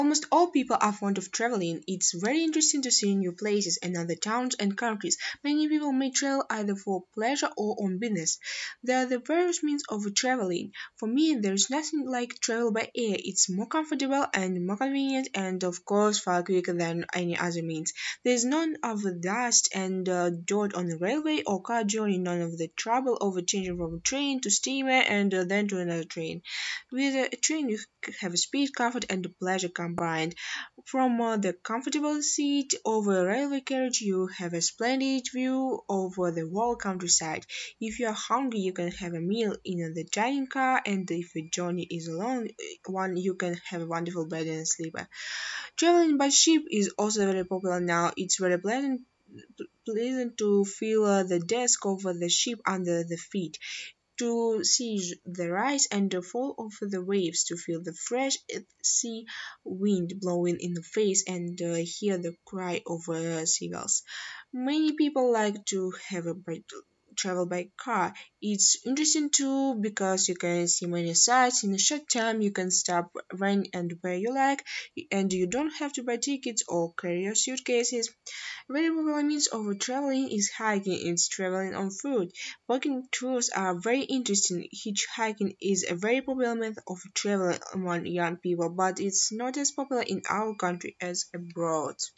Almost all people are fond of traveling. It's very interesting to see new places and other towns and countries. Many people may travel either for pleasure or on business. There are the various means of traveling. For me, there's nothing like travel by air. It's more comfortable and more convenient and of course far quicker than any other means. There's none of the dust and dirt on the railway or car journey, none of the trouble of changing from train to steamer and then to another train. With a train, you have speed, comfort, and pleasure combined. From the comfortable seat of a railway carriage, you have a splendid view over the whole countryside. If you are hungry, you can have a meal in the dining car, and if your journey is a long one, you can have a wonderful bed and a sleeper. Traveling by ship is also very popular now. It's very pleasant to feel the desk of the ship under the feet, to see the rise and the fall of the waves, to feel the fresh sea wind blowing in the face, and hear the cry of seagulls. Many people like to have a travel by car. It's interesting too because you can see many sights in a short time. You can stop when and where you like, and you don't have to buy tickets or carry your suitcases. Very popular means of traveling is hiking. It's traveling on foot. Walking tours are very interesting. Hitchhiking is a very popular method of travel among young people, but it's not as popular in our country as abroad.